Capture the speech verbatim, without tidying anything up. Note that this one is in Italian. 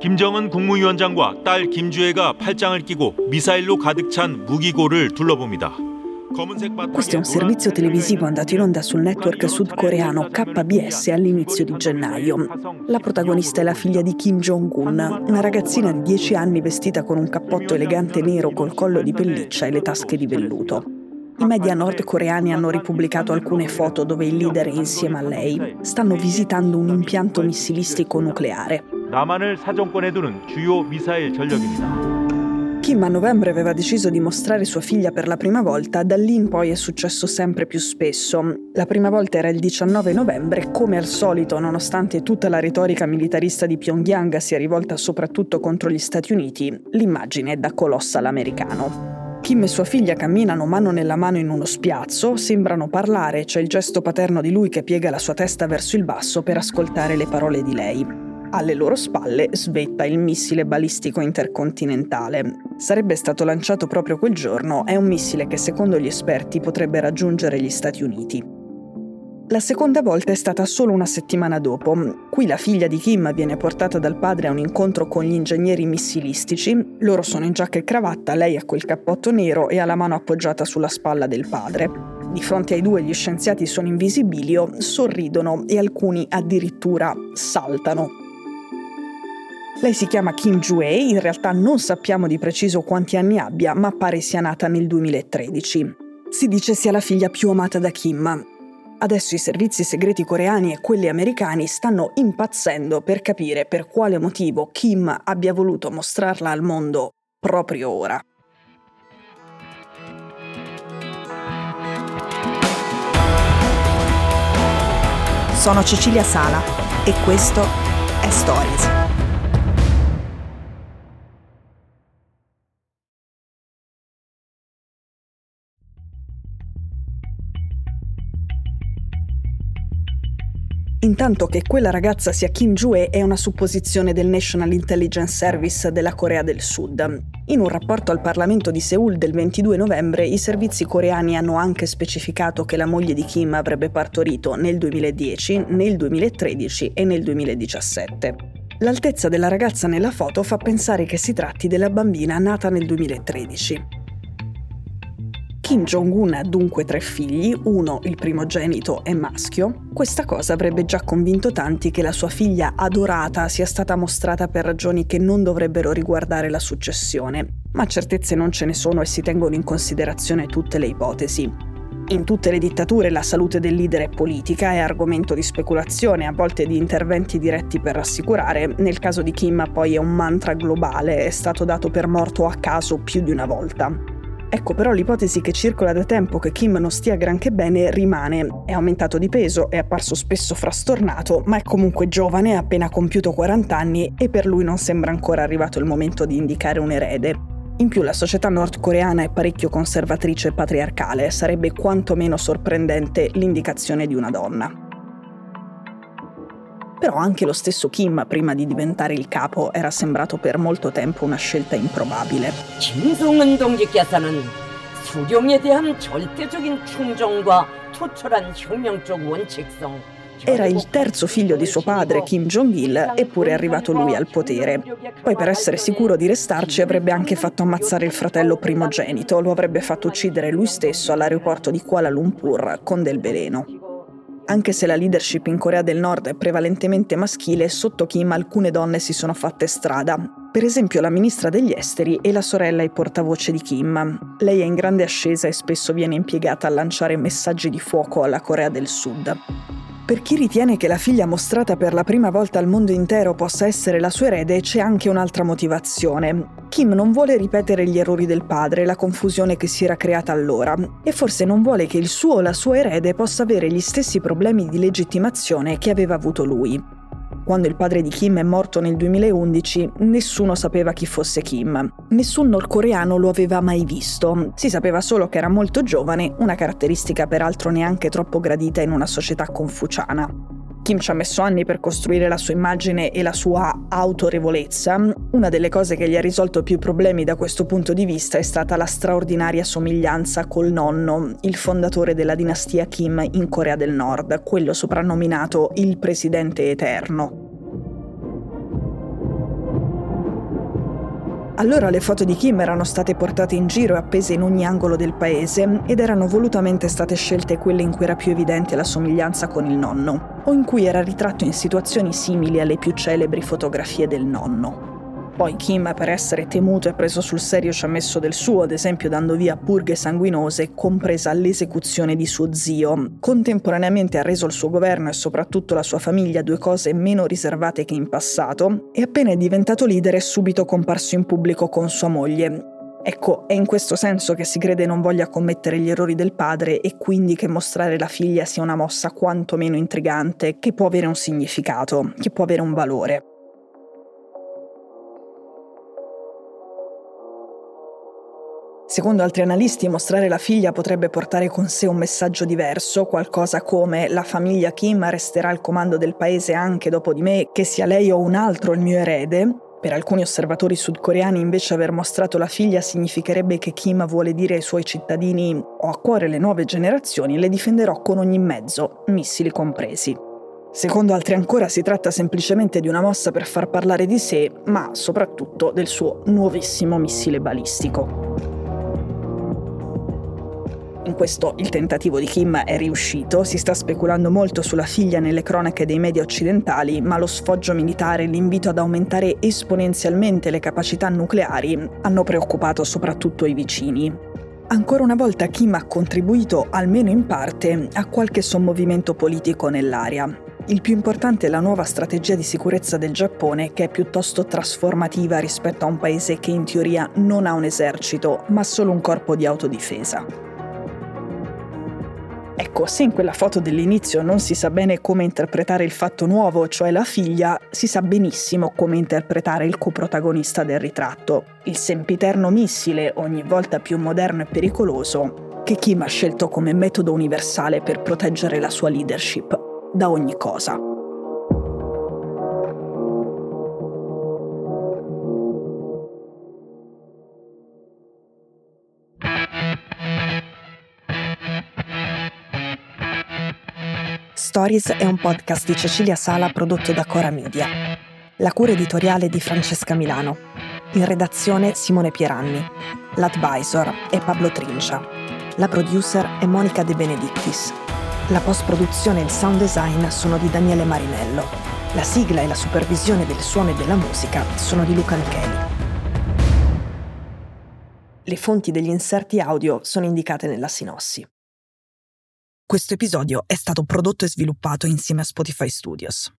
김정은 국무위원장과 딸 김주혜가 팔짱을 끼고 미사일로 가득 찬 무기고를 둘러봅니다. Questo è un servizio televisivo andato in onda sul network sudcoreano K B S all'inizio di gennaio. La protagonista è la figlia di Kim Jong-un, una ragazzina di dieci anni vestita con un cappotto elegante nero col collo di pelliccia e le tasche di velluto. I media nordcoreani hanno ripubblicato alcune foto dove il leader è insieme a lei. Stanno visitando un impianto missilistico nucleare. 남한을 사정권에 두는 주요 미사일 전력입니다. Kim a novembre aveva deciso di mostrare sua figlia per la prima volta, da lì in poi è successo sempre più spesso. La prima volta era il diciannove novembre, come al solito, nonostante tutta la retorica militarista di Pyongyang sia rivolta soprattutto contro gli Stati Uniti, l'immagine è da colossal americano. Kim e sua figlia camminano mano nella mano in uno spiazzo, sembrano parlare, c'è il gesto paterno di lui che piega la sua testa verso il basso per ascoltare le parole di lei. Alle loro spalle svetta il missile balistico intercontinentale. Sarebbe stato lanciato proprio quel giorno, è un missile che secondo gli esperti potrebbe raggiungere gli Stati Uniti. La seconda volta è stata solo una settimana dopo. Qui la figlia di Kim viene portata dal padre a un incontro con gli ingegneri missilistici. Loro sono in giacca e cravatta, lei ha quel cappotto nero e ha la mano appoggiata sulla spalla del padre. Di fronte ai due gli scienziati sono in visibilio, sorridono e alcuni addirittura saltano. Lei si chiama Kim Ju-hae, in realtà non sappiamo di preciso quanti anni abbia, ma pare sia nata nel duemilatredici. Si dice sia la figlia più amata da Kim. Adesso i servizi segreti coreani e quelli americani stanno impazzendo per capire per quale motivo Kim abbia voluto mostrarla al mondo proprio ora. Sono Cecilia Sala e questo è Stories. Intanto che quella ragazza sia Kim Ju-hae è una supposizione del National Intelligence Service della Corea del Sud. In un rapporto al Parlamento di Seul del ventidue novembre, i servizi coreani hanno anche specificato che la moglie di Kim avrebbe partorito nel duemiladieci, nel duemilatredici e nel duemiladiciassette. L'altezza della ragazza nella foto fa pensare che si tratti della bambina nata nel duemilatredici. Kim Jong-un ha dunque tre figli, uno, il primogenito, è maschio. Questa cosa avrebbe già convinto tanti che la sua figlia adorata sia stata mostrata per ragioni che non dovrebbero riguardare la successione. Ma certezze non ce ne sono e si tengono in considerazione tutte le ipotesi. In tutte le dittature la salute del leader è politica, è argomento di speculazione, a volte di interventi diretti per rassicurare. Nel caso di Kim poi è un mantra globale, è stato dato per morto a caso più di una volta. Ecco però l'ipotesi che circola da tempo che Kim non stia granché bene rimane. È aumentato di peso, è apparso spesso frastornato, ma è comunque giovane, ha appena compiuto quaranta anni e per lui non sembra ancora arrivato il momento di indicare un erede. In più la società nordcoreana è parecchio conservatrice e patriarcale, sarebbe quantomeno sorprendente l'indicazione di una donna. Però anche lo stesso Kim, prima di diventare il capo, era sembrato per molto tempo una scelta improbabile. 김정은 동지께서는 수령에 대한 절대적인 충정과 투철한 혁명적 원칙성. Era il terzo figlio di suo padre, Kim Jong-il, eppure è arrivato lui al potere. Poi per essere sicuro di restarci avrebbe anche fatto ammazzare il fratello primogenito, lo avrebbe fatto uccidere lui stesso all'aeroporto di Kuala Lumpur con del veleno. Anche se la leadership in Corea del Nord è prevalentemente maschile, sotto Kim alcune donne si sono fatte strada. Per esempio la ministra degli esteri e la sorella e portavoce di Kim. Lei è in grande ascesa e spesso viene impiegata a lanciare messaggi di fuoco alla Corea del Sud. Per chi ritiene che la figlia mostrata per la prima volta al mondo intero possa essere la sua erede, c'è anche un'altra motivazione. Kim non vuole ripetere gli errori del padre, la confusione che si era creata allora, e forse non vuole che il suo o la sua erede possa avere gli stessi problemi di legittimazione che aveva avuto lui. Quando il padre di Kim è morto nel duemilaundici, nessuno sapeva chi fosse Kim. Nessun nordcoreano lo aveva mai visto. Si sapeva solo che era molto giovane, una caratteristica peraltro neanche troppo gradita in una società confuciana. Kim ci ha messo anni per costruire la sua immagine e la sua autorevolezza. Una delle cose che gli ha risolto più problemi da questo punto di vista è stata la straordinaria somiglianza col nonno, il fondatore della dinastia Kim in Corea del Nord, quello soprannominato il Presidente Eterno. Allora le foto di Kim erano state portate in giro e appese in ogni angolo del paese ed erano volutamente state scelte quelle in cui era più evidente la somiglianza con il nonno, o in cui era ritratto in situazioni simili alle più celebri fotografie del nonno. Poi Kim, per essere temuto e preso sul serio, ci ha messo del suo, ad esempio dando via purghe sanguinose, compresa l'esecuzione di suo zio. Contemporaneamente ha reso il suo governo e soprattutto la sua famiglia due cose meno riservate che in passato, e appena è diventato leader è subito comparso in pubblico con sua moglie. Ecco, è in questo senso che si crede non voglia commettere gli errori del padre e quindi che mostrare la figlia sia una mossa quantomeno intrigante, che può avere un significato, che può avere un valore. Secondo altri analisti, mostrare la figlia potrebbe portare con sé un messaggio diverso, qualcosa come «La famiglia Kim resterà al comando del paese anche dopo di me, che sia lei o un altro il mio erede». Per alcuni osservatori sudcoreani invece aver mostrato la figlia significherebbe che Kim vuole dire ai suoi cittadini «Ho a cuore le nuove generazioni e le difenderò con ogni mezzo, missili compresi». Secondo altri ancora si tratta semplicemente di una mossa per far parlare di sé, ma soprattutto del suo nuovissimo missile balistico. In questo il tentativo di Kim è riuscito, si sta speculando molto sulla figlia nelle cronache dei media occidentali, ma lo sfoggio militare e l'invito ad aumentare esponenzialmente le capacità nucleari hanno preoccupato soprattutto i vicini. Ancora una volta Kim ha contribuito, almeno in parte, a qualche sommovimento politico nell'area. Il più importante è la nuova strategia di sicurezza del Giappone, che è piuttosto trasformativa rispetto a un paese che in teoria non ha un esercito, ma solo un corpo di autodifesa. Ecco, se in quella foto dell'inizio non si sa bene come interpretare il fatto nuovo, cioè la figlia, si sa benissimo come interpretare il coprotagonista del ritratto, il sempiterno missile, ogni volta più moderno e pericoloso, che Kim ha scelto come metodo universale per proteggere la sua leadership da ogni cosa. Stories è un podcast di Cecilia Sala prodotto da Cora Media. La cura editoriale di Francesca Milano. In redazione Simone Pieranni. L'advisor è Pablo Trincia. La producer è Monica De Benedictis. La post-produzione e il sound design sono di Daniele Marinello. La sigla e la supervisione del suono e della musica sono di Luca Micheli. Le fonti degli inserti audio sono indicate nella sinossi. Questo episodio è stato prodotto e sviluppato insieme a Spotify Studios.